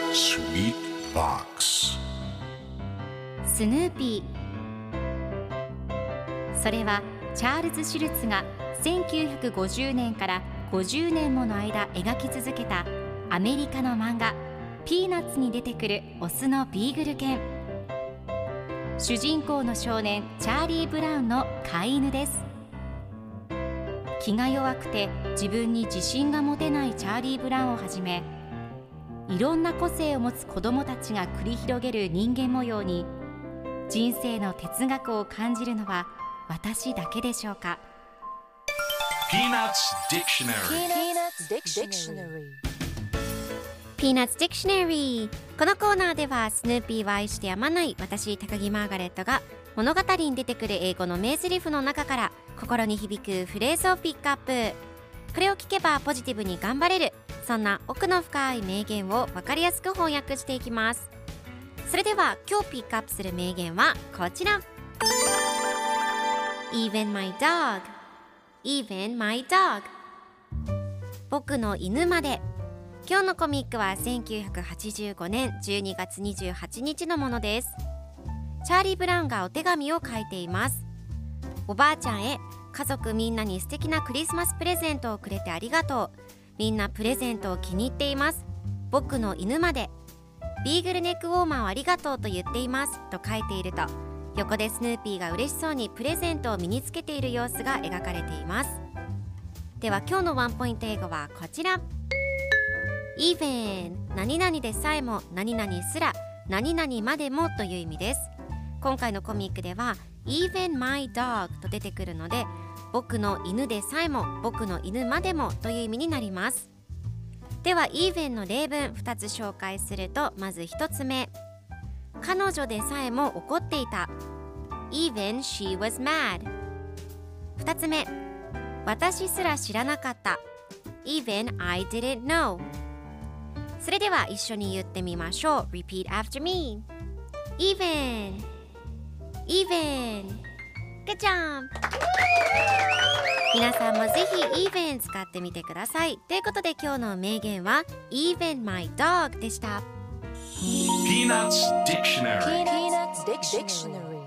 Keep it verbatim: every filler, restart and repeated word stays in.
Sweet Box スヌーピー。それはチャールズ・シュルツがせんきゅうひゃくごじゅうねんからごじゅうねんもの間描き続けたアメリカの漫画ピーナッツに出てくるオスのビーグル犬。主人公の少年チャーリー・ブラウンの飼い犬です。気が弱くて自分に自信が持てないチャーリー・ブラウンをはじめ、いろんな個性を持つ子どもたちが繰り広げる人間模様に人生の哲学を感じるのは私だけでしょうか。 Peanuts Dictionary Peanuts Dictionary。 このコーナーではスヌーピーを愛してやまない私高木マーガレットが物語に出てくる英語の名台詞の中から心に響くフレーズをピックアップ。これを聞けばポジティブに頑張れる、そんな奥の深い名言を分かりやすく翻訳していきます。それでは今日ピックアップする名言はこちら。 Even my dog Even my dog 僕の犬まで。今日のコミックはせんきゅうひゃくはちじゅうごねんじゅうにがつにじゅうはちにちのものです。チャーリー・ブラウンがお手紙を書いています。おばあちゃんへ、家族みんなに素敵なクリスマスプレゼントをくれてありがとう。みんなプレゼントを気に入っています。僕の犬まで。ビーグルネックウォーマーをありがとうと言っていますと書いていると、横でスヌーピーが嬉しそうにプレゼントを身につけている様子が描かれています。では今日のワンポイント英語はこちら。 Even 何々でさえも、何々すら、何々までもという意味です。今回のコミックでは Even my dog と出てくるので、僕の犬でさえも、僕の犬までもという意味になります。では Even の例文ふたつ紹介すると、まずひとつめ、彼女でさえも怒っていた。 Even she was mad。 ふたつめ、私すら知らなかった。 Even I didn't know。 それでは一緒に言ってみましょう。 Repeat after me。 Even Even Good job。 皆さんもぜひ Even 使ってみてください。ということで今日の名言は Even my dog でした。 Peanuts Dictionary Peanuts Dictionary